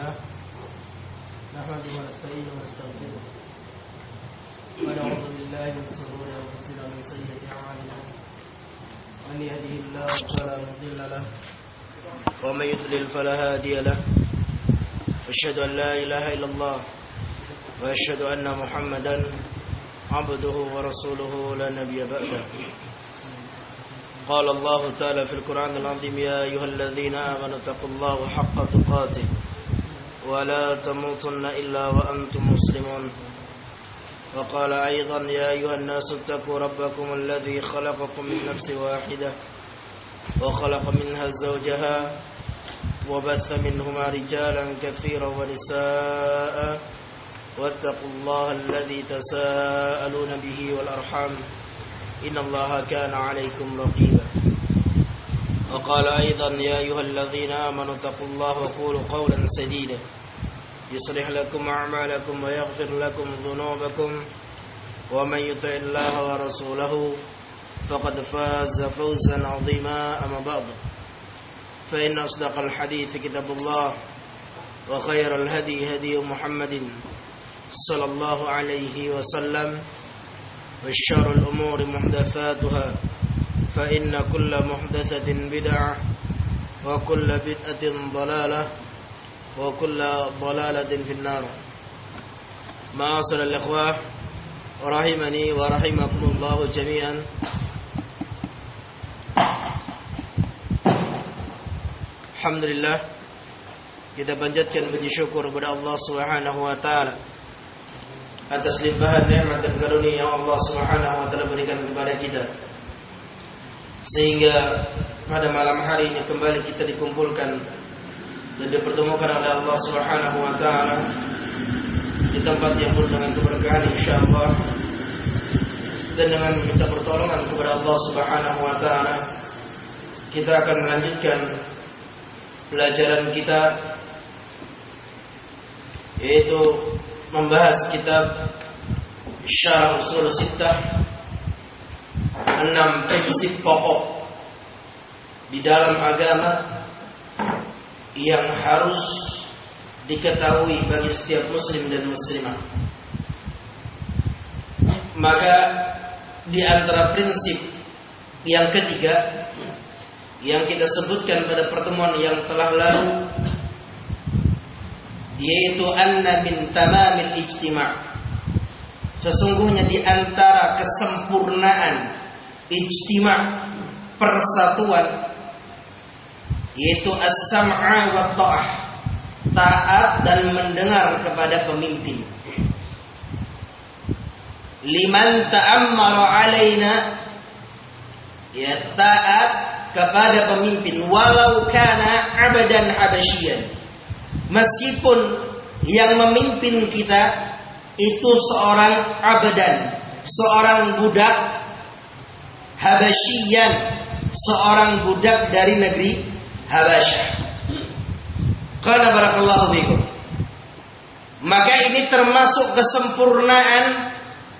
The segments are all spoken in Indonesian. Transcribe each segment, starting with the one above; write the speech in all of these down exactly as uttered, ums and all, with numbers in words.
لله نحمده ونستعينه ونستغفره ونعوذ بالله من شرور أنفسنا ومن سيئات أعمالنا من يهده الله فلا مضل له ومن يضلل فلا هادي له أشهد أن لا إله إلا الله وأشهد أن محمدا عبده ورسوله لا نبي بعده. قال الله تعالى في القرآن العظيم يا أيها الذين آمنوا اتقوا الله حق تقاته ولا تموتن إلا وأنتم مسلمون. وقال أيضا يا أيها الناس اتقوا ربكم الذي خلقكم من نفس واحدة وخلق منها زوجها وبث منهما رجالا كثيرا ونساء واتقوا الله الذي تساءلون به والأرحام إن الله كان عليكم رقيبا. وقال أيضا يا أيها الذين آمنوا اتقوا الله وقولوا قولا سديدا يصلح لكم أعمالكم ويغفر لكم ذنوبكم ومن يطع الله ورسوله فقد فاز فوزا عظيما. أما بعد فإن أصدق الحديث كتاب الله وخير الهدي هدي محمد صلى الله عليه وسلم وشر الأمور محدثاتها فإن كل محدثة بدعة وكل بدعة ضلالة وكل ضلالة في النار. معاشر الإخوة رحمني ورحمكم الله جميعا. Alhamdulillah, kita panjatkan puji syukur kepada Allah Subhanahu wa taala atas limpahan nikmat dan karunia yang Allah Subhanahu wa taala berikan kepada kita, sehingga pada malam hari ini kembali kita dikumpulkan dan dipertemukan oleh Allah Subhanahu wa taala di tempat yang penuh dengan keberkahan insyaallah, dan dengan meminta pertolongan kepada Allah Subhanahu wa taala kita akan melanjutkan pelajaran kita, yaitu membahas kitab Syarah Ushul Sittah, enam prinsip pokok di dalam agama yang harus diketahui bagi setiap muslim dan muslimah. Maka di antara prinsip yang ketiga yang kita sebutkan pada pertemuan yang telah lalu, yaitu anna min tamamil ijtima', sesungguhnya di antara kesempurnaan ijtima', persatuan, yaitu as-sam'a wa ta'ah, taat dan mendengar kepada pemimpin. Liman ta'ammara alaina, ya taat kepada pemimpin walau kana abadan habasyian, meskipun yang memimpin kita itu seorang abadan, seorang budak habasyian, seorang budak dari negeri Habasyah. Qala barakallahu fikum. Maka ini termasuk kesempurnaan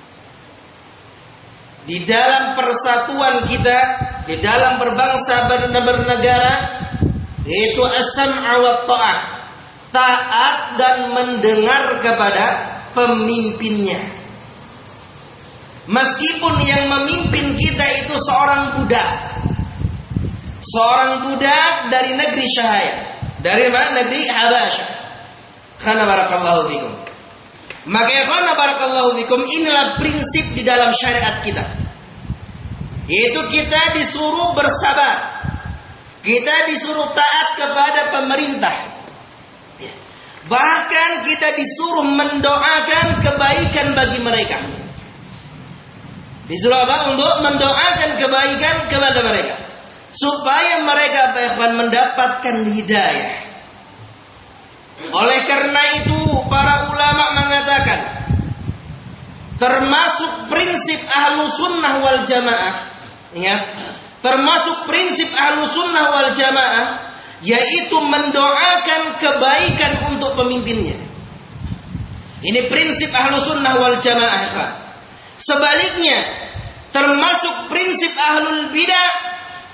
di dalam persatuan kita, di dalam berbangsa dan bernegara, yaitu as-sam'a wa ta'ah, taat dan mendengar kepada pemimpinnya. Meskipun yang memimpin kita itu seorang budak, seorang budak dari negeri Syahaya, dari mana? Negeri Habasyah. Khana barakallahu fikum. Maka khana barakallahu fikum, inilah prinsip di dalam syariat kita, yaitu kita disuruh bersabar, kita disuruh taat kepada pemerintah, bahkan kita disuruh mendoakan kebaikan bagi mereka. Disuruh apa? Untuk mendoakan kebaikan kepada mereka, supaya mereka mendapatkan hidayah. Oleh karena itu para ulama mengatakan, termasuk prinsip ahlu sunnah wal jamaah, ya, termasuk prinsip ahlu sunnah wal jamaah, yaitu mendoakan kebaikan untuk pemimpinnya. Ini prinsip ahlu sunnah wal jamaah. Sebaliknya, termasuk prinsip ahlul bidah,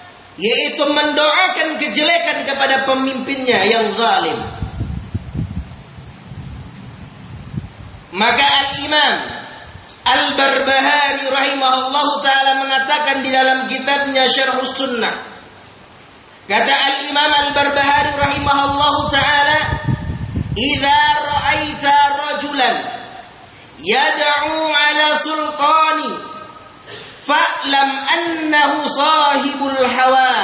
yaitu mendoakan kejelekan kepada pemimpinnya yang zalim. Maka Al-Imam Al-Barbahari rahimahullahu ta'ala mengatakan di dalam kitabnya Syarhus Sunnah. Kata Al-Imam Al-Barbahari rahimahullahu ta'ala, "Idza ra'aita rajulan yad'u 'ala sultani fa'lam annahu sahibul hawa."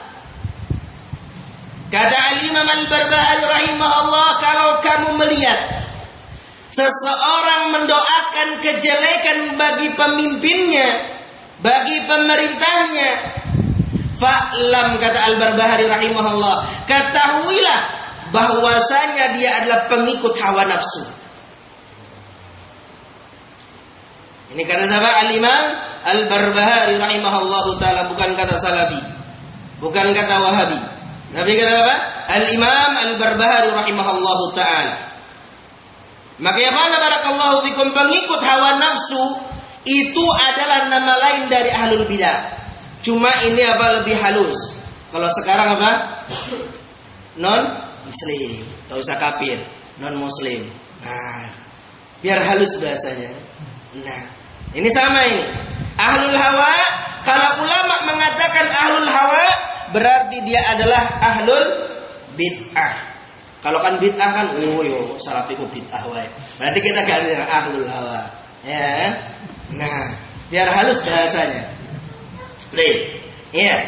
Kata Al-Imam Al-Barbahari rahimahullah, kalau kamu melihat seseorang mendoakan kejelekan bagi pemimpinnya, bagi pemerintahnya, fa'lam, kata Al-Barbahari rahimahullah, ketahuilah bahwasanya dia adalah pengikut hawa nafsu. Ini kata siapa? Al-Imam Al-Barbahari rahimahullahu ta'ala, bukan kata Salafi, bukan kata Wahabi, tapi kata apa? Al-Imam Al-Barbahari rahimahullahu ta'ala. Maka ya mana barakallahu fikum, pengikut hawa nafsu itu adalah nama lain dari ahlul bidah. Cuma ini apa, lebih halus. Kalau sekarang apa? Non muslim, tak usah kafir, non muslim. Nah, biar halus bahasanya. Nah, ini sama ini. Ahlul hawa, kalau ulama mengatakan ahlul hawa, berarti dia adalah ahlul bid'ah. Kalau kan bid'ah kan, oh yo, salafiku bid'ah wae. Berarti kita ganti ahlul hawa, ya. Nah, biar halus bahasanya. Baik. Ya.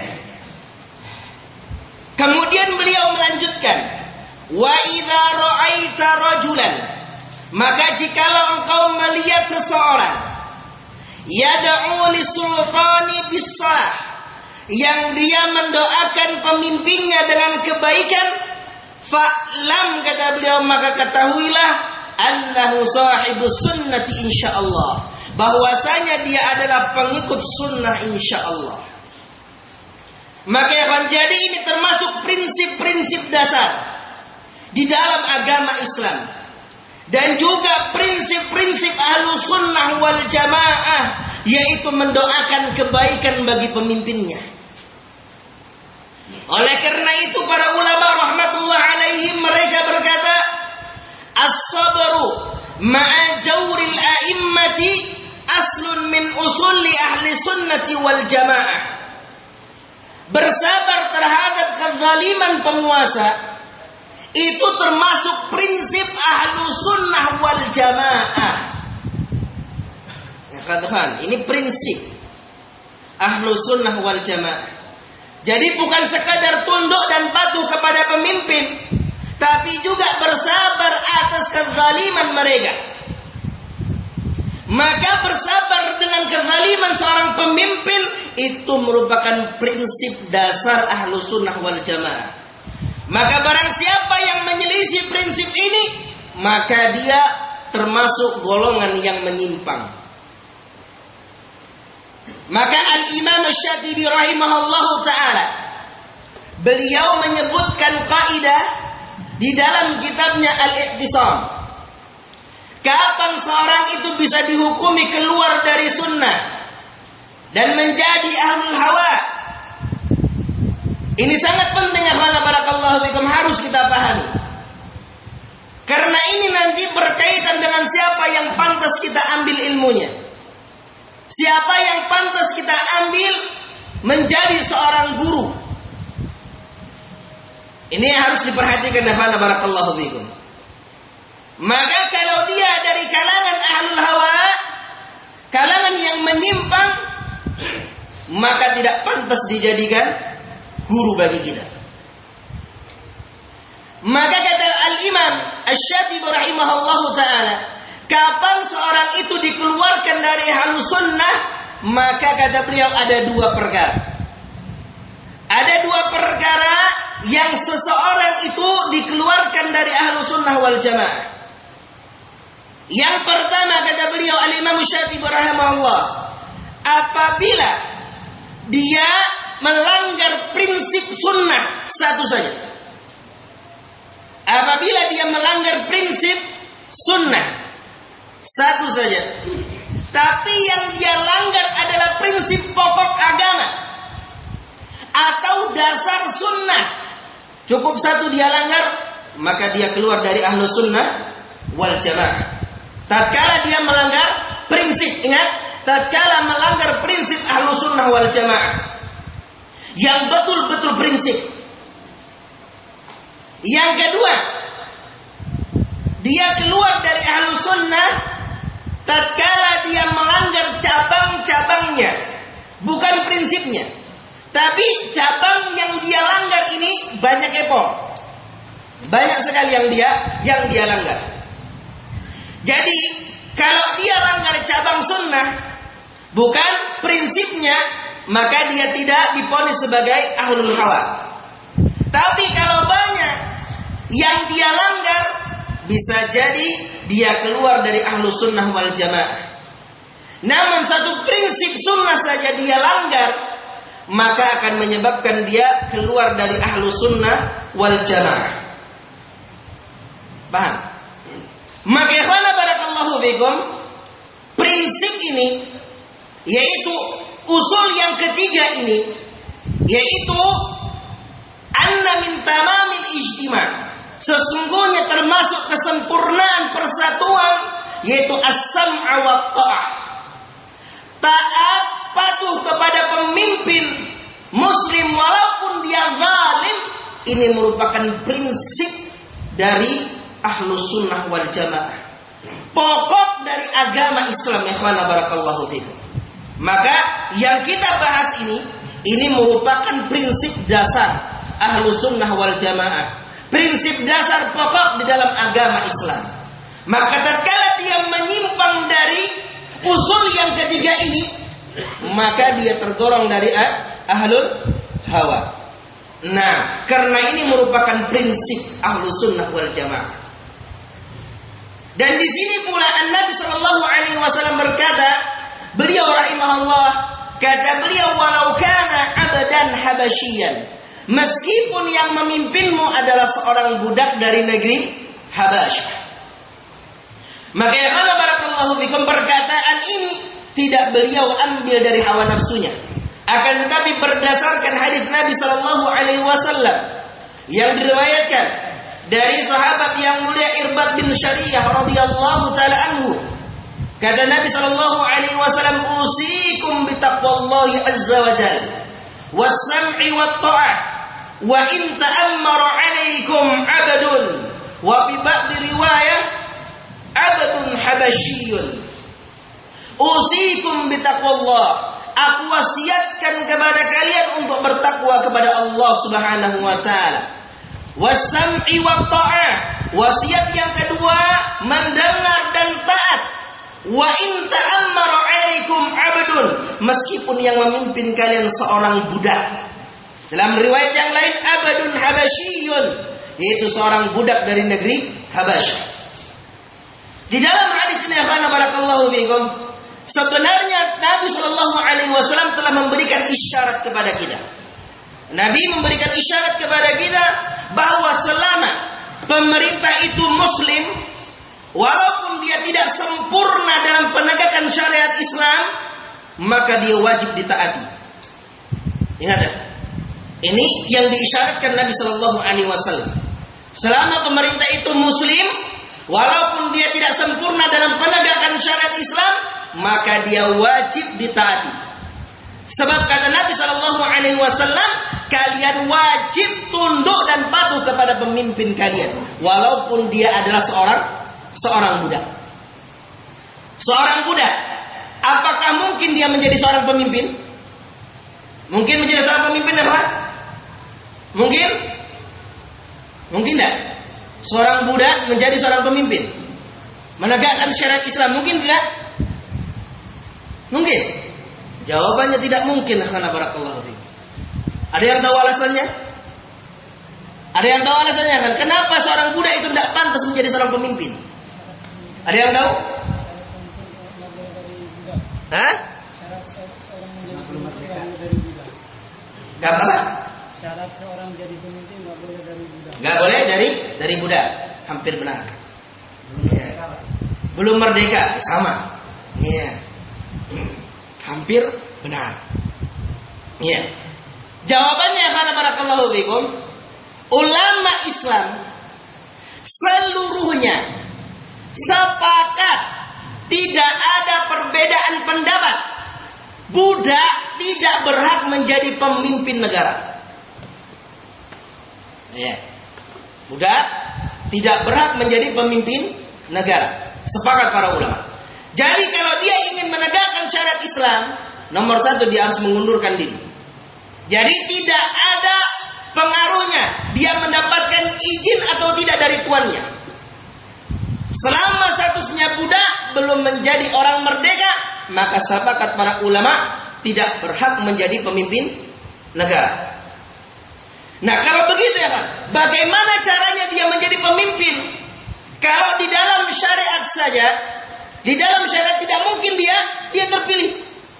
Kemudian beliau melanjutkan, wa idza ra'aita rajulan, maka jikalau engkau melihat seseorang yad'u lis-sultani bis-shalah, yang dia mendoakan pemimpinnya dengan kebaikan, fa'lam, kata beliau, maka ketahuilah annahu sahibus sunnati insyaallah, bahwasanya dia adalah pengikut sunnah insyaallah. Maka akan jadi ini termasuk prinsip-prinsip dasar di dalam agama Islam, dan juga prinsip-prinsip Ahlus Sunnah wal Jamaah, yaitu mendoakan kebaikan bagi pemimpinnya. Oleh karena itu para ulama rahmatullah alaihim, mereka berkata, as-sabru ma'a jawril a'immati aslun min usuli ahli sunnati wal jamaah. Bersabar terhadap kezaliman penguasa itu termasuk prinsip ahlu sunnah wal jamaah. Ya, katakan, ini prinsip ahlu sunnah wal jamaah. Jadi bukan sekadar tunduk dan patuh kepada pemimpin, tapi juga bersabar atas kezaliman mereka. Maka bersabar dengan kezaliman seorang pemimpin itu merupakan prinsip dasar ahlu sunnah wal jamaah. Maka barang siapa yang menyelisih prinsip ini, maka dia termasuk golongan yang menyimpang. Maka Al-Imam Asy-Syatibi rahimahullahu ta'ala, beliau menyebutkan kaidah di dalam kitabnya Al-Iqtisam. Kapan seorang itu bisa dihukumi keluar dari sunnah dan menjadi ahlul hawa? Ini sangat penting ya khana barakallahu fikum, harus kita pahami. Karena ini nanti berkaitan dengan siapa yang pantas kita ambil ilmunya. Siapa yang pantas kita ambil menjadi seorang guru. Ini harus diperhatikan ya khana barakallahu fikum. Maka kalau dia dari kalangan ahlul hawa, kalangan yang menyimpang, maka tidak pantas dijadikan guru bagi kita. Maka kata Al-Imam Asy-Syatibi rahimahullahu ta'ala, kapan seorang itu dikeluarkan dari ahlus sunnah? Maka kata beliau ada dua perkara. Ada dua perkara yang seseorang itu dikeluarkan dari ahlus sunnah wal jamaah. Yang pertama kata beliau Al-Imam Asy-Syatibi rahimahullah, apabila dia melanggar prinsip sunnah satu saja. Apabila dia melanggar prinsip sunnah satu saja, tapi yang dia langgar adalah prinsip pokok agama atau dasar sunnah, cukup satu dia langgar, maka dia keluar dari ahlus sunnah wal jamaah. tatkala dia melanggar prinsip, ingat, tatkala melanggar prinsip Ahlus Sunnah wal Jamaah yang betul-betul prinsip. Yang kedua, dia keluar dari Ahlus Sunnah tatkala dia melanggar cabang-cabangnya, bukan prinsipnya, tapi cabang yang dia langgar ini banyak epong, banyak sekali yang dia yang dia langgar. Jadi kalau dia langgar cabang sunnah, bukan prinsipnya, maka dia tidak diponis sebagai ahlul hawa. Tapi kalau banyak yang dia langgar, bisa jadi dia keluar dari ahlus sunnah wal jamaah. Namun satu prinsip sunnah saja dia langgar, maka akan menyebabkan dia keluar dari ahlus sunnah wal jamaah. Paham? Maka ikhwana barakallahu fikum, prinsip ini, yaitu usul yang ketiga ini, yaitu anna min tamamil ijtima', sesungguhnya termasuk kesempurnaan persatuan, yaitu as-sam'a wa ta'ah, taat patuh kepada pemimpin muslim walaupun dia zalim. Ini merupakan prinsip dari Ahlus Sunnah wal Jamaah, pokok dari agama Islam. Ikhwana barakallahu fikum. Maka yang kita bahas ini, ini merupakan prinsip dasar Ahlus Sunnah wal Jamaah, prinsip dasar pokok di dalam agama Islam. Maka tatkala dia menyimpang dari usul yang ketiga ini, maka dia tergolong dari ahlul hawa. Nah, karena ini merupakan prinsip Ahlus Sunnah wal Jamaah. Dan di sini pula An-Nabi sallallahu alaihi wasallam berkata, beliau rahimahullah, kata beliau, walau kana abadan habasyian, meskipun yang memimpinmu adalah seorang budak dari negeri Habasyah. Maka ya Allah barakallahu fikum, perkataan ini tidak beliau ambil dari hawa nafsunya, akan tetapi berdasarkan hadis Nabi sallallahu alaihi wasallam yang diriwayatkan dari sahabat yang mulia Irbad bin Syariyah radhiyallahu taala anhu. Kata Nabi sallallahu alaihi wasallam, usikum bitaqwallahi azza wa jalla was-sam'i wat-tha'ah wa in ta'ammara 'alaikum 'abdun, wa fi ba'd riwayah 'abdun habasyiyyun. Usikum bitaqwallah, aku wasiatkan kepada kalian untuk bertakwa kepada Allah Subhanahu wa taala. Was-sam'i wat-tha'ah, wasiat yang kedua mendengar dan taat. Wa in ta'ammara 'alaikum 'abdun, meskipun yang memimpin kalian seorang budak. Dalam riwayat yang lain abdun habasyiyyun, yaitu seorang budak dari negeri Habasyah. Di dalam hadis ini akhana barakallahu fikum, sebenarnya Nabi sallallahu alaihi wasallam telah memberikan isyarat kepada kita. Nabi memberikan isyarat kepada kita bahwa selama pemerintah itu muslim, walaupun dia tidak sempurna dalam penegakan syariat Islam, maka dia wajib ditaati. Ingat ya, ini yang diisyaratkan Nabi sallallahu alaihi wasallam. Selama pemerintah itu muslim, walaupun dia tidak sempurna dalam penegakan syariat Islam, maka dia wajib ditaati. Sebab kata Nabi sallallahu alaihi wasallam, kalian wajib tunduk dan patuh kepada pemimpin kalian, walaupun dia adalah seorang seorang budak. Seorang budak, apakah mungkin dia menjadi seorang pemimpin? Mungkin menjadi seorang pemimpin apa? Mungkin? Mungkin tidak. Seorang budak menjadi seorang pemimpin, menegakkan syariat Islam, mungkin tidak? Mungkin? Jawabannya tidak mungkin. Akhana barakallahu fiik. Ada yang tahu alasannya? Ada yang tahu alasannya kan? Kenapa seorang budak itu tidak pantas menjadi seorang pemimpin? Ada yang tahu? Hah? Syarat seorang menjadi pemimpin nggak boleh dari budak. Gak apa? Syarat seorang jadi pemimpin nggak boleh dari budak. Gak boleh dari dari budak. Hampir benar. Ya. Belum merdeka, sama. Iya. Hampir benar. Iya. Jawabannya karena barakallahu fikum, ulama Islam seluruhnya sepakat tidak ada perbedaan pendapat. Budak tidak berhak menjadi pemimpin negara. Ya. Budak tidak berhak menjadi pemimpin negara. Sepakat para ulama. Jadi kalau dia ingin menegakkan syariat Islam, nomor satu dia harus mengundurkan diri. Jadi tidak ada pengaruhnya dia mendapatkan izin atau tidak dari tuannya. Selama statusnya budak belum menjadi orang merdeka, maka sepakat para ulama tidak berhak menjadi pemimpin negara. Nah kalau begitu ya Pak, bagaimana caranya dia menjadi pemimpin? Kalau di dalam syariat saja, di dalam syariat tidak mungkin dia dia terpilih.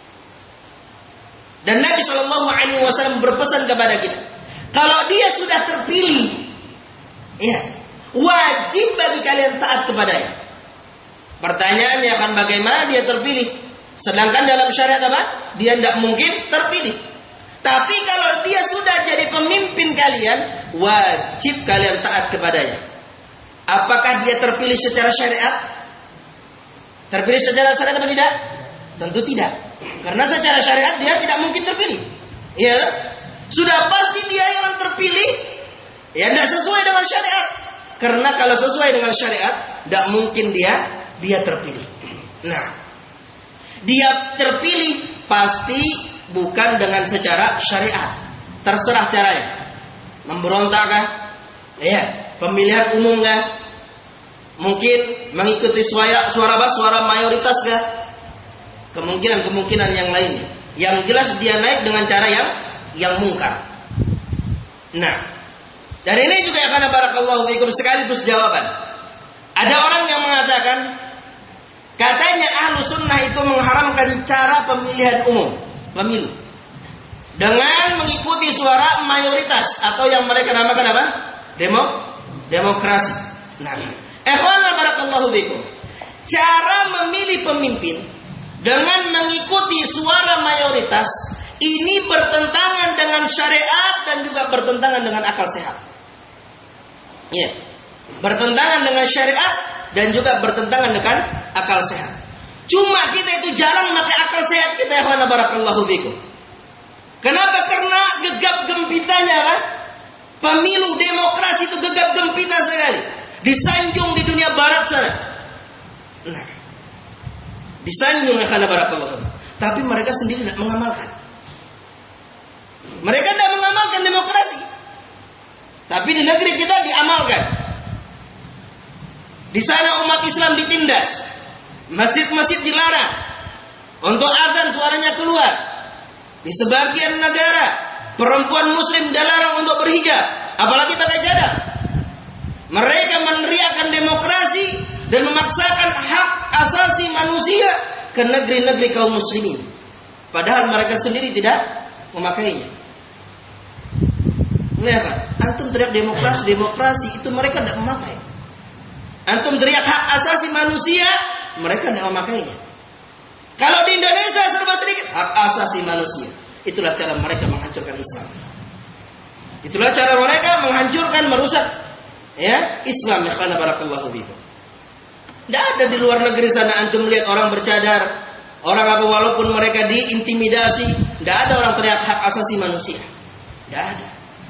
Dan Nabi Shallallahu Alaihi Wasallam berpesan kepada kita, kalau dia sudah terpilih, ya wajib bagi kalian taat kepadanya. Pertanyaannya kan bagaimana dia terpilih? Sedangkan dalam syariat apa? Dia tidak mungkin terpilih. Tapi kalau dia sudah jadi pemimpin kalian, wajib kalian taat kepadanya. Apakah dia terpilih secara syariat? Terpilih secara syariat atau tidak? Tentu tidak. Karena secara syariat dia tidak mungkin terpilih. Ya, sudah pasti dia yang terpilih. Ya, tidak sesuai dengan syariat. Karena kalau sesuai dengan syariat, tidak mungkin dia dia terpilih. Nah, dia terpilih pasti bukan dengan secara syariat. Terserah caranya. Memberontak kah? Ya, pemilihan umum kah? Mungkin mengikuti suara suara bas, suara mayoritas kah? Kemungkinan-kemungkinan yang lainnya. Yang jelas dia naik dengan cara yang yang mungkar. Nah, dan ini juga karena barakallahu fikum sekaligus jawaban. Ada orang yang mengatakan katanya ahlu sunnah itu mengharamkan cara pemilihan umum, pemilu, dengan mengikuti suara mayoritas atau yang mereka namakan apa? Demo, demokrasi. Nah, ikhwan barakallahu fikum, cara memilih pemimpin dengan mengikuti suara mayoritas ini bertentangan dengan syariat dan juga bertentangan dengan akal sehat. Ya, bertentangan dengan syariat dan juga bertentangan dengan akal sehat. Cuma kita itu jalan pakai akal sehat kita ya khana barakallahu fikum. Kenapa? Karena gegap gempitanya apa? Pemilu demokrasi itu gegap gempita sekali. Disanjung di dunia barat sana. Nah, disanjung ya khana barakallahu fikum. Tapi mereka sendiri tidak mengamalkan. Mereka tidak mengamalkan demokrasi. Tapi di negeri kita diamalkan. Di sana umat Islam ditindas. Masjid-masjid dilarang. Untuk azan suaranya keluar. Di sebagian negara perempuan muslim dilarang untuk berhijab, apalagi pakai cadar. Mereka meneriakkan demokrasi dan memaksakan hak asasi manusia ke negeri-negeri kaum muslimin. Padahal mereka sendiri tidak memakainya. Lihat, antum teriak demokrasi, demokrasi itu mereka tidak memakai. Antum teriak hak asasi manusia, mereka tidak memakainya. Kalau di Indonesia serba sedikit hak asasi manusia. Itulah cara mereka menghancurkan Islam. Itulah cara mereka menghancurkan, merusak ya Islam. Ya khana barakallahu fikum. Tidak ada di luar negeri sana antum melihat orang bercadar, orang apa walaupun mereka diintimidasi, tidak ada orang teriak hak asasi manusia. Tidak ada.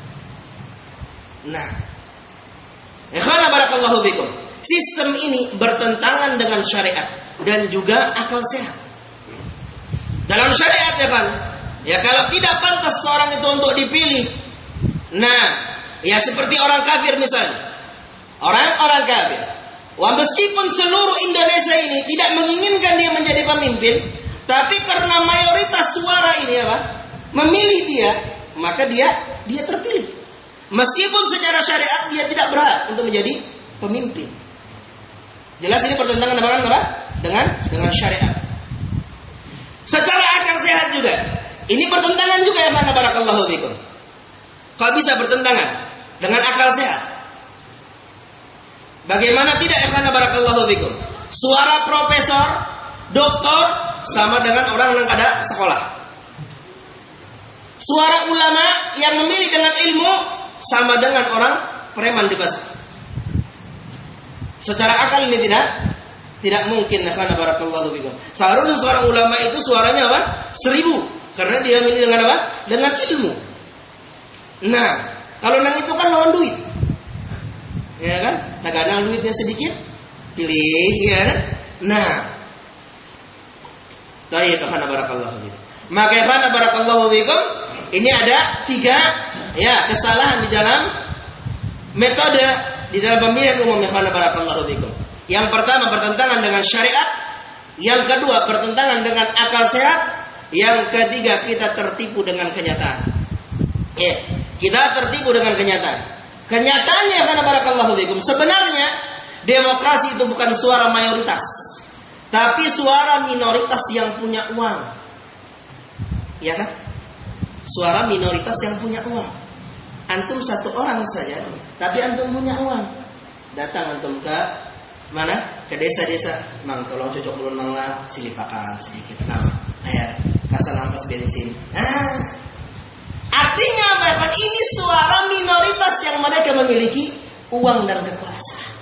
Nah, ikhwana barakallahu fikum. Sistem ini bertentangan dengan syariat dan juga akal sehat. Dalam syariat ya kan, ya kalau tidak pantas seorang itu untuk dipilih. Nah, ya seperti orang kafir misalnya. Orang-orang kafir. Wah, meskipun seluruh Indonesia ini tidak menginginkan dia menjadi pemimpin, tapi karena mayoritas suara ini apa? Memilih dia, maka dia dia terpilih. Meskipun secara syariat dia tidak berhak untuk menjadi pemimpin. Jelas ini pertentangan dengan apa? Dengan dengan syariat. Secara akal sehat juga. Ini pertentangan juga ya mana barakallahu fikum. Kok bisa bertentangan dengan akal sehat? Bagaimana tidak ya mana barakallahu fikum? Suara profesor, doktor sama dengan orang yang ada sekolah. Suara ulama yang memilih dengan ilmu sama dengan orang preman di pasar. Secara akal ini tidak Tidak mungkin. Karena barakallahu fikum. Seharusnya seorang ulama itu suaranya apa? Seribu. Karena dia milih dengan apa? Dengan ilmu. Nah, kalau nang itu kan lawan duit. Ya kan? Nah, kadang duitnya sedikit, pilih, ya kan? Nah, baik, karena barakallahu fikum. Maka karena barakallahu fikum, ini ada tiga ya kesalahan di dalam metode di dalam pemilihan umum karena barakallahu fikum. Yang pertama bertentangan dengan syariat, yang kedua bertentangan dengan akal sehat, yang ketiga kita tertipu dengan kenyataan. Ya, kita tertipu dengan kenyataan. Kenyataannya karena barakallahu fikum, sebenarnya demokrasi itu bukan suara mayoritas, tapi suara minoritas yang punya uang. Ya kan? Suara minoritas yang punya uang. Antum satu orang saja, tapi antum punya uang. Datang antum ke mana? Ke desa-desa. Mang, tolong cocok dulu nang silipakan sedikit. Nah, air, kasih lampas bensin. Ah. Artinya apa? Ini suara minoritas yang mereka memiliki uang dan kekuasaan.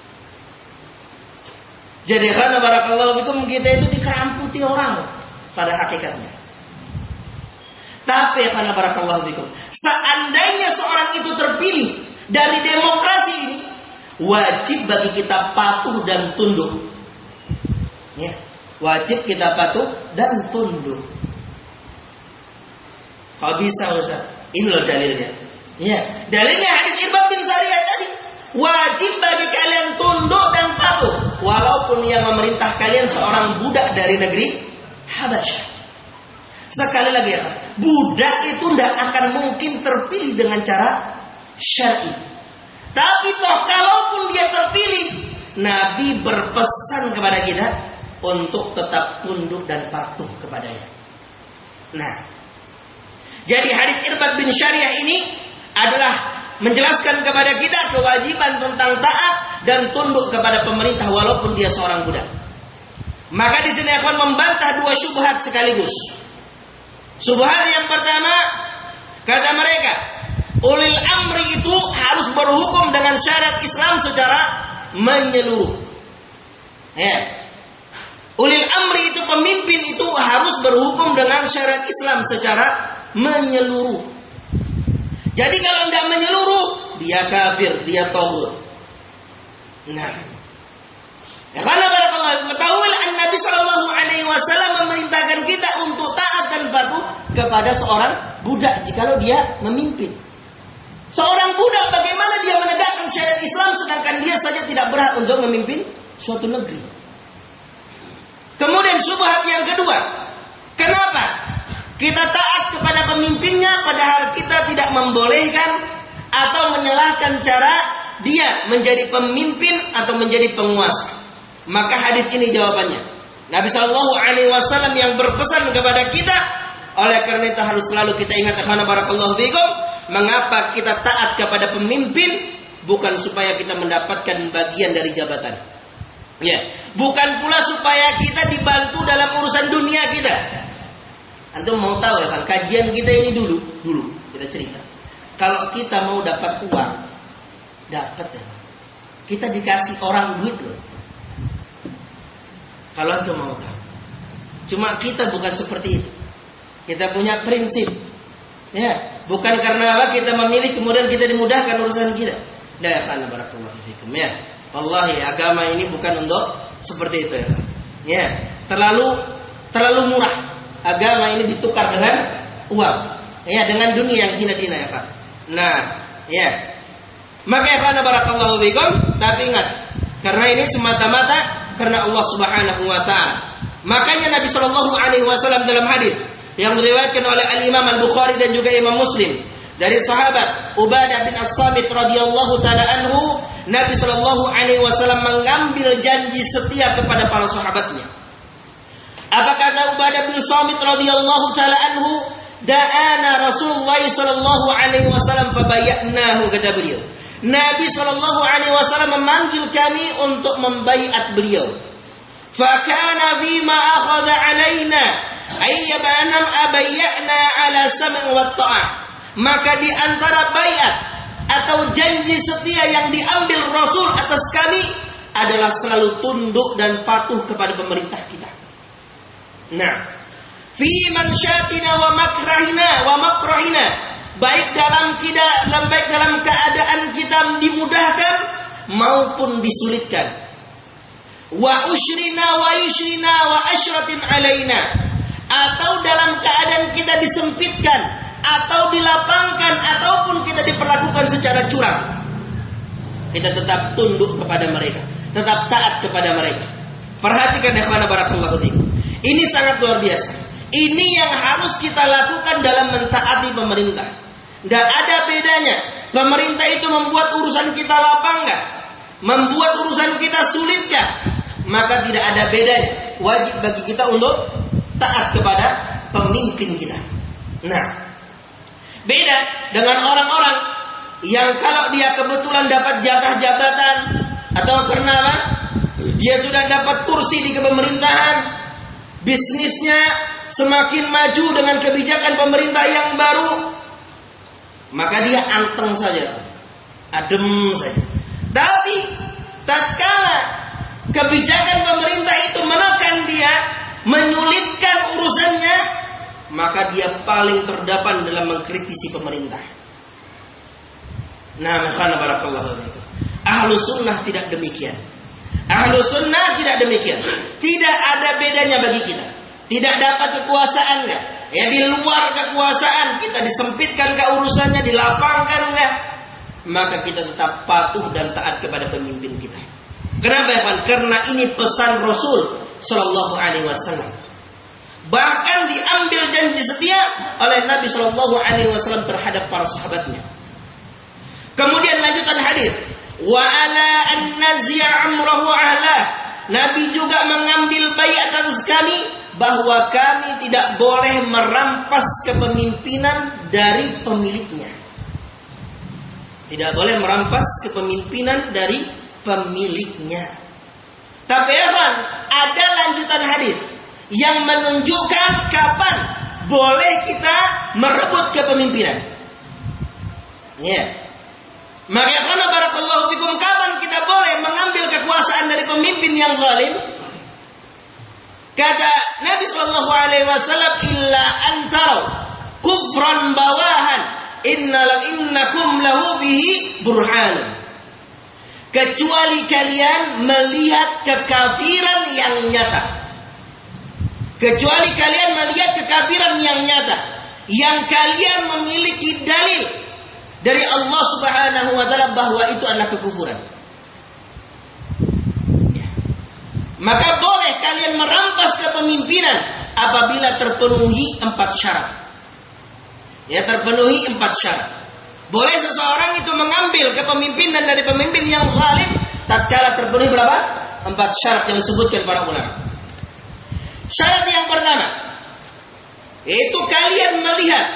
Jadi karena barakallahu fikum kita itu dikeramputi orang pada hakikatnya. Tapi karena barakallahu fikum, seandainya seorang itu terpilih dari demokrasi ini, wajib bagi kita patuh dan tunduk. Ya, wajib kita patuh dan tunduk. Kalau bisa Ustaz, ini loh dalilnya. Ya, dalilnya hadis Irbad bin Sariyah tadi. Wajib bagi kalian tunduk dan patuh walaupun yang memerintah kalian seorang budak dari negeri Habasyah. Sekali lagi ya, budak itu tidak akan mungkin terpilih dengan cara syar'i. Tapi toh kalaupun dia terpilih, Nabi berpesan kepada kita untuk tetap tunduk dan patuh kepadanya. Nah, jadi hadis Irbad bin Sariyah ini adalah menjelaskan kepada kita kewajiban tentang taat dan tunduk kepada pemerintah walaupun dia seorang budak. Maka di sini akan membantah dua syubhat sekaligus. Syubhat yang pertama, kata mereka, ulil amri itu harus berhukum dengan syariat Islam secara menyeluruh. Ya. Ulil amri itu pemimpin itu harus berhukum dengan syariat Islam secara menyeluruh. Jadi kalau tidak menyeluruh, dia kafir, dia taghut. Nah, ya karena barakallahu ketahuilah Nabi Shallallahu Alaihi Wasallam memerintahkan kita untuk taat dan patuh kepada seorang budak jikalau dia memimpin. Seorang budak bagaimana dia menegakkan syariat Islam sedangkan dia saja tidak berhak untuk memimpin suatu negeri. Kemudian syubhat yang kedua, kenapa kita taat kepada pemimpinnya padahal kita tidak membolehkan atau menyalahkan cara dia menjadi pemimpin atau menjadi penguasa? Maka hadis ini jawabannya. Nabi Shallallahu Alaihi Wasallam yang berpesan kepada kita, oleh karena itu harus selalu kita ingat karena barakallahu fikum, mengapa kita taat kepada pemimpin bukan supaya kita mendapatkan bagian dari jabatan. Ya, bukan pula supaya kita dibantu dalam urusan dunia kita. Antum mau tahu ya kan, kajian kita ini dulu, dulu kita cerita. Kalau kita mau dapat uang, dapat ya. Kita dikasih orang duit loh. Kalau antum mau tahu. Cuma kita bukan seperti itu. Kita punya prinsip. Ya, bukan karena apa kita memilih kemudian kita dimudahkan urusan kita. Dah karena barakallahu fikum ya. Wallahi agama ini bukan untuk seperti itu ya. Ya, terlalu terlalu murah. Agama ini ditukar dengan uang. Ya, dengan dunia yang hina-hina ya, Pak. Nah, ya. Maka ya karena barakallahu fikum, tapi ingat, karena ini semata-mata karena Allah Subhanahu wa taala. Makanya Nabi sallallahu alaihi wasallam dalam hadis yang diriwayatkan oleh Al-Imam Al-Bukhari dan juga Imam Muslim dari sahabat Ubadah bin As-Samit radhiyallahu taala anhu, Nabi sallallahu alaihi wasallam mengambil janji setia kepada para sahabatnya. Apa kata Ubadah bin As-Samit radhiyallahu taala anhu? Da'ana Rasulullah sallallahu alaihi wasallam fabayyanahu, kata beliau. Nabi sallallahu alaihi wasallam memanggil kami untuk membaiat beliau. Fa kana bima akhadha alaina ayyabanam abayyana ala sam' wa ta'ah. Maka di antara baiat atau janji setia yang diambil Rasul atas kami adalah selalu tunduk dan patuh kepada pemerintah kita. Nah, fi mansyatina wa makrahina wa makrahina, baik dalam kita, baik dalam keadaan kita dimudahkan maupun disulitkan. Wa usyrina wa yusyrina wa asyratin alaina, atau dalam keadaan kita disempitkan atau dilapangkan ataupun kita diperlakukan secara curang, kita tetap tunduk kepada mereka, tetap taat kepada mereka. Perhatikan ikhwana barakallahu fikum. Ini sangat luar biasa. Ini yang harus kita lakukan dalam mentaati pemerintah. Tidak ada bedanya. Pemerintah itu membuat urusan kita lapang nggak? Membuat urusan kita sulit nggak? Maka tidak ada bedanya. Wajib bagi kita untuk taat kepada pemimpin kita. Nah, beda dengan orang-orang yang kalau dia kebetulan dapat jatah jabatan atau karena apa? Dia sudah dapat kursi di kepemerintahan, bisnisnya semakin maju dengan kebijakan pemerintah yang baru, maka dia anteng saja, adem saja. Tapi tatkala kebijakan pemerintah itu menekan dia, menyulitkan urusannya, maka dia paling terdepan dalam mengkritisi pemerintah. Nah, makhana barakallahu fikum. Ahlus sunnah tidak demikian. Ahlus sunnah tidak demikian. Tidak ada bedanya bagi kita. Tidak dapat kekuasaan enggak? Ya, di luar kekuasaan kita disempitkan ke urusannya, dilapangkan enggak? Maka kita tetap patuh dan taat kepada pemimpin kita. Kenapa ya, Pak? Karena ini pesan Rasul sallallahu alaihi wasallam. Bahkan diambil janji setia oleh Nabi sallallahu alaihi wasallam terhadap para sahabatnya. Kemudian lanjutan hadis, wa ala an nazya amrahu ahla. Nabi juga mengambil baiat atas kami bahwa kami tidak boleh merampas kepemimpinan dari pemiliknya. Tidak boleh merampas kepemimpinan dari pemiliknya. Tapi ada lanjutan hadis yang menunjukkan kapan boleh kita merebut kepemimpinan. Ya. Yeah. Maka karena barakallahu fikum, kapan kita boleh mengambil kekuasaan dari pemimpin yang zalim? Kata Nabi sallallahu alaihi wasallam, illa antarau kufran bawahan innal innakum lahu fihi burhan. Kecuali kalian melihat kekafiran yang nyata. Kecuali kalian melihat kekafiran yang nyata, yang kalian memiliki dalil dari Allah Subhanahu wa taala bahwa itu adalah kekufuran. Ya. Maka boleh kalian merampas kepemimpinan apabila terpenuhi empat syarat. Ya, terpenuhi empat syarat. Boleh seseorang itu mengambil kepemimpinan dari pemimpin yang zalim tatkala terpenuhi berapa? Empat syarat yang disebutkan para ulama. Syarat yang pertama, yaitu kalian melihat.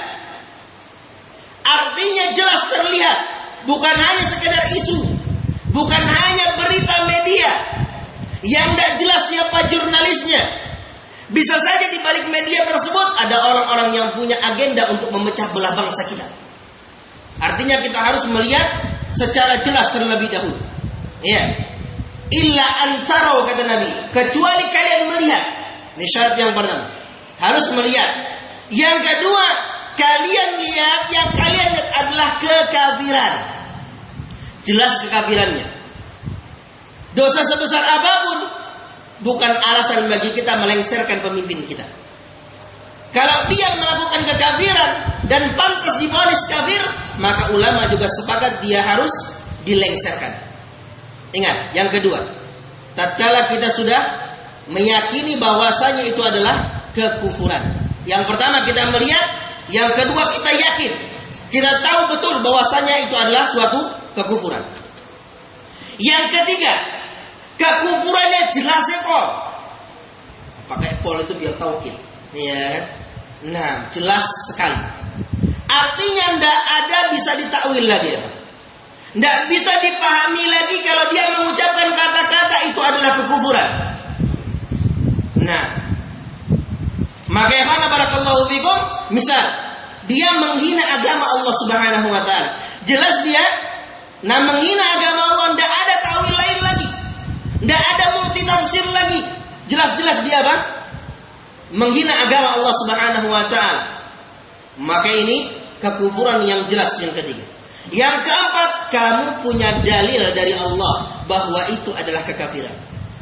Artinya jelas terlihat, bukan hanya sekedar isu, bukan hanya berita media yang tidak jelas siapa jurnalisnya. Bisa saja di balik media tersebut ada orang-orang yang punya agenda untuk memecah belah bangsa kita. Artinya kita harus melihat secara jelas terlebih dahulu. Ya. Illa antarau, kata Nabi, kecuali kalian melihat. Ini syarat yang pertama, harus melihat. Yang kedua, kalian lihat, yang kalian lihat adalah kekafiran. Jelas kekafirannya. Dosa sebesar apapun bukan alasan bagi kita melengsarkan pemimpin kita. Kalau dia melakukan kekafiran dan pantas divonis kafir, maka ulama juga sepakat dia harus dilengsarkan. Ingat, yang kedua, tatkala kita sudah meyakini bahwasanya itu adalah kekufuran. Yang pertama kita melihat, yang kedua kita yakin, kita tahu betul bahwasanya itu adalah suatu kekufuran. Yang ketiga, kekufurannya jelas pol. Pakai pol itu biar taukid, ya. Nah, jelas sekali. Artinya tidak ada bisa ditakwil lagi, ya. Tidak bisa dipahami lagi kalau dia mengucapkan kata-kata itu adalah kekufuran. Nah, maka ya kana barakallahu fikum, misal dia menghina agama Allah Subhanahu wa taala. Jelas dia nah menghina agama Allah, tidak ada takwil lain lagi. Tidak ada multi tafsir lagi. Jelas-jelas dia apa? Menghina agama Allah Subhanahu wa taala. Maka ini kekufuran yang jelas yang ketiga. Yang keempat, kamu punya dalil dari Allah bahwa itu adalah kekafiran.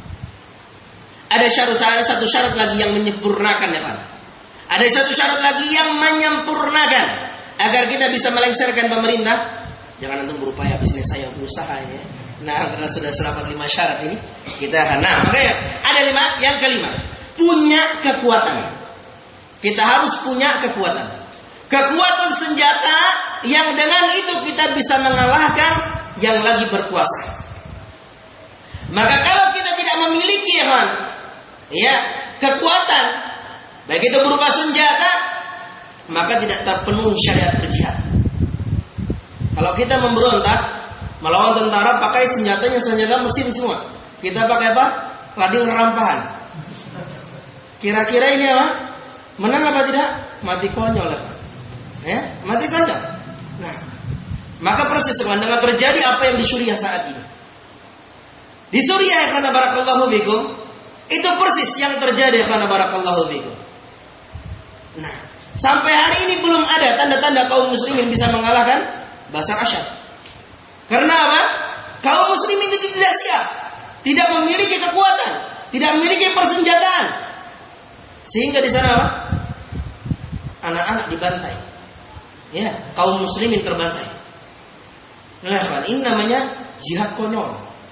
Ada syarat, ada satu syarat lagi yang menyempurnakan ya kan? Ada satu syarat lagi yang menyempurnakan agar kita bisa melengsarkan pemerintah. Jangan antum berupaya bisnis saya usaha ya. Nah, karena sudah selamat lima syarat ini, kita akan. Nah, makanya ada lima. Yang kelima, punya kekuatan. Kita harus punya kekuatan. Kekuatan senjata yang dengan itu kita bisa mengalahkan yang lagi berkuasa. Maka kalau kita tidak memiliki ya, ya kekuatan, baik itu berupa senjata, maka tidak terpenuhi syariat berjihad. Kalau kita memberontak melawan tentara pakai senjatanya senjata mesin semua, kita pakai apa? Lading rampahan. Kira-kira ini apa? Menang apa tidak? Mati konyol ya, ya mati konyol. Nah, maka persis dengan terjadi apa yang di Suriah saat ini. Di Suriah karena barakallahu fikum, itu persis yang terjadi karena barakallahu fikum. Nah, sampai hari ini belum ada tanda-tanda kaum muslimin bisa mengalahkan Bashar Assad. Karena apa? Kaum muslimin itu tidak siap, tidak memiliki kekuatan, tidak memiliki persenjataan. Sehingga di sana apa? Anak-anak dibantai. Ya, kaum muslimin terbantai. Nah, ini namanya jihad konyol.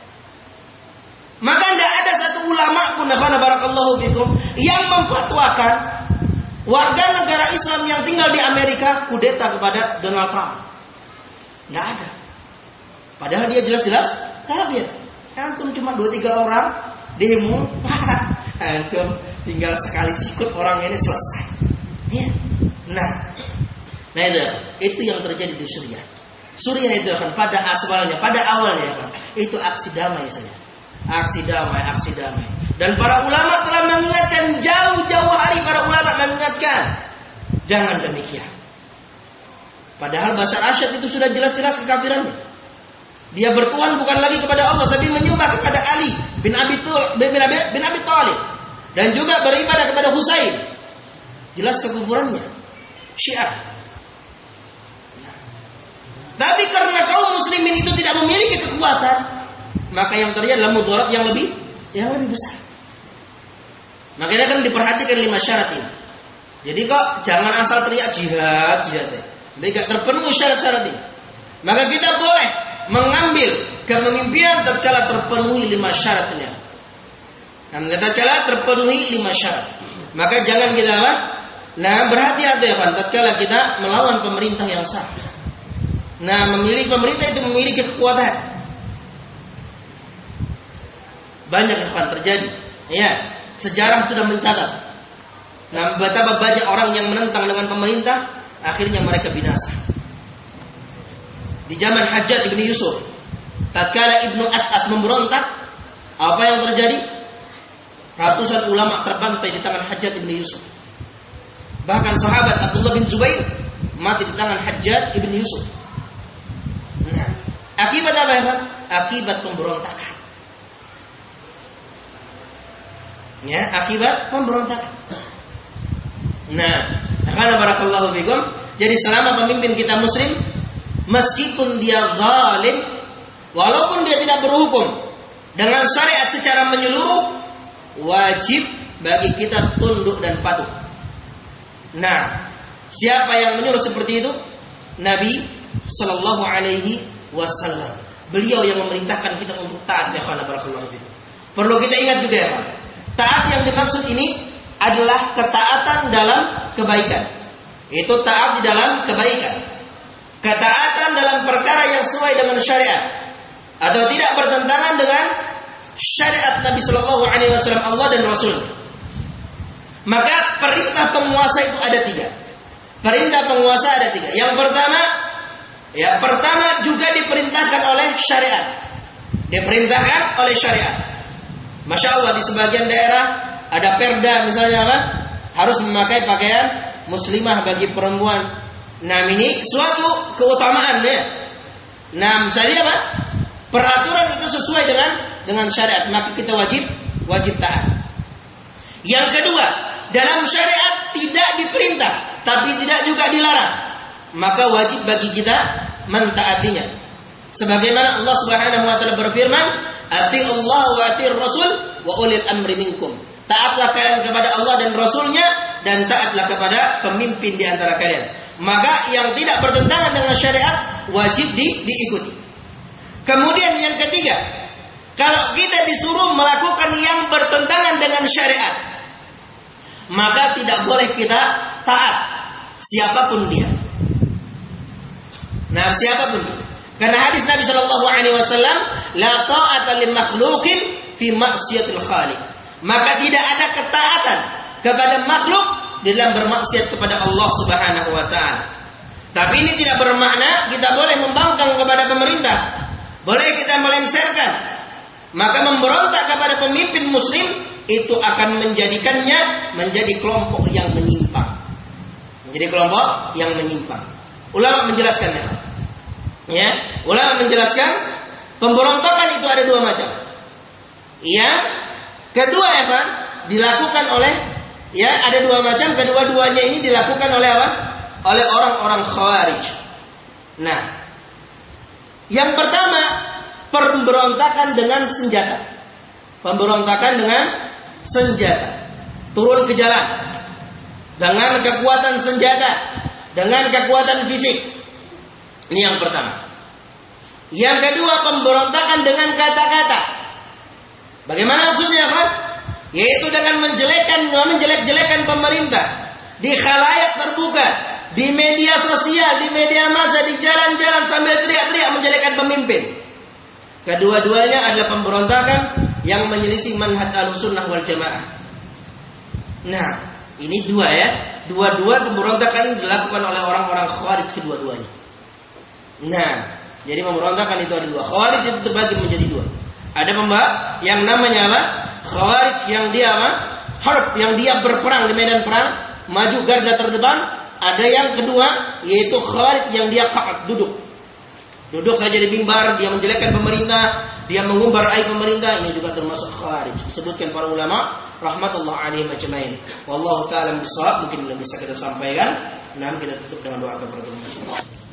Maka tidak ada satu ulama pun barakallahu fikum yang memfatwakan warga negara Islam yang tinggal di Amerika kudeta kepada Donald Trump. Tidak ada. Padahal dia jelas-jelas kafir. Antum cuma dua tiga orang demo, antum tinggal sekali sikut orang ini selesai. Ya. Nah, nah itu, itu yang terjadi di Suriah. Suriah itu kan pada asalnya, pada awalnya kan, itu aksi damai saja. Aksi damai, aksi damai. Dan para ulama telah mengingatkan jauh-jauh hari, para ulama mengingatkan jangan demikian. Padahal Bashar Assad itu sudah jelas-jelas kekafirannya. Dia bertuhan bukan lagi kepada Allah, tapi menyembah kepada Ali bin Abi bin Abi, bin Abi Thalib dan juga beribadah kepada Husain. Jelas kekufurannya. Syiah. Nah. Tapi karena kaum muslimin itu tidak memiliki kekuatan, maka yang terjadi adalah mudarat yang lebih yang lebih besar. Makanya kan diperhatikan lima syarat ini. Jadi kok jangan asal teriak jihad, jihad. Jadi gak terpenuhi syarat-syarat ini. Maka kita boleh mengambil kepemimpinan tatkala terpenuhi lima syarat ini. Dan tatkala terpenuhi lima syarat. Maka jangan kita apa? Nah, berhati-hati ya kan, tatkala kita melawan pemerintah yang sah. Nah, memilih pemerintah itu memiliki kekuatan. Banyak yang akan terjadi. Ya, sejarah sudah mencatat. Nah, betapa banyak orang yang menentang dengan pemerintah, akhirnya mereka binasa. Di zaman Hajjaj ibn Yusuf, tatkala Ibnu At'as memberontak, apa yang terjadi? Ratusan ulama terbantai di tangan Hajjaj ibn Yusuf. Bahkan sahabat Abdullah bin Zubair mati di tangan Hajjaj ibn Yusuf. Nah, akibat apa ya? Akibat pemberontakan. Ya, akibat pemberontakan. Nah, karena barakallahu fikum, jadi selama pemimpin kita muslim, meskipun dia zalim, walaupun dia tidak berhukum dengan syariat secara menyeluruh, wajib bagi kita tunduk dan patuh. Nah, siapa yang menyuruh seperti itu? Nabi sallallahu alaihi wasallam. Beliau yang memerintahkan kita untuk taat ya khana barakallahu fikum. Perlu kita ingat juga ya, taat yang dimaksud ini adalah ketaatan dalam kebaikan. Itu taat di dalam kebaikan. Ketaatan dalam perkara yang sesuai dengan syariat atau tidak bertentangan dengan syariat Nabi sallallahu alaihi wasallam Allah dan Rasul. Maka perintah penguasa itu ada tiga. Perintah penguasa ada tiga. Yang pertama, ya pertama juga diperintahkan oleh syariat. Diperintahkan oleh syariat. Masya Allah di sebagian daerah ada perda misalnya apa? Harus memakai pakaian muslimah bagi perempuan. Nah ini suatu keutamaan ya. Nah misalnya apa? peraturan itu sesuai dengan dengan syariat, maka kita wajib wajib taat. Yang kedua, dalam syariat tidak diperintah, tapi tidak juga dilarang, maka wajib bagi kita mentaatinya. Sebagaimana Allah Subhanahu wa taala berfirman, "Atiiullah wa atiir Rasul wa ulil amri minkum." Taatlah kalian kepada Allah dan Rasulnya, dan taatlah kepada pemimpin di antara kalian. Maka yang tidak bertentangan dengan syariat wajib di, diikuti. Kemudian yang ketiga, kalau kita disuruh melakukan yang bertentangan dengan syariat, maka tidak boleh kita taat siapapun dia. Nah, siapapun dia. Karena hadis Nabi Shallallahu Alaihi Wasallam, la ta'ata li makhluqin fi maksiatil khaliq. Maka tidak ada ketaatan kepada makhluk dalam bermaksiat kepada Allah Subhanahu wa taala. Tapi ini tidak bermakna kita boleh membangkang kepada pemerintah. Boleh kita melengsarkan. Maka memberontak kepada pemimpin muslim itu akan menjadikannya menjadi kelompok yang menyimpang. Menjadi kelompok yang menyimpang. Ulama menjelaskannya. Ya, ulama menjelaskan pemberontakan itu ada dua macam. Yang kedua apa? Dilakukan oleh, ya, ada dua macam. Kedua-duanya ini dilakukan oleh apa? Oleh orang-orang Khawarij. Nah, yang pertama pemberontakan dengan senjata. Pemberontakan dengan senjata. Turun ke jalan dengan kekuatan senjata, dengan kekuatan fisik. Ini yang pertama. Yang kedua pemberontakan dengan kata-kata. Bagaimana maksudnya, Pak? Yaitu dengan menjelekkan, menjelek-jelekan pemerintah di khalayak terbuka, di media sosial, di media massa, di jalan-jalan sambil teriak-teriak menjelekkan pemimpin. Kedua-duanya adalah pemberontakan yang menyelisih manhaj Ahlussunnah wal Jamaah. Nah, ini dua ya. Dua-dua pemberontakan ini dilakukan oleh orang-orang Khawarij kedua-duanya. Nah, jadi pemberontakan itu ada dua. Khawarij itu terbagi menjadi dua. Ada pembak yang namanya apa? Khawarij yang dia apa? Harb, yang dia berperang di medan perang, maju garda terdepan. Ada yang kedua, yaitu Khawarij yang dia qa'ad, duduk. Duduk saja di mimbar, dia menjelekkan pemerintah, dia mengumbar aib pemerintah. Ini juga termasuk Khawarij. Disebutkan para ulama rahmatullah alaihim ajmain. Wallahu ta'ala bisawab. Mungkin belum bisa kita sampaikan. Nah, kita tutup dengan doa kepada Allah.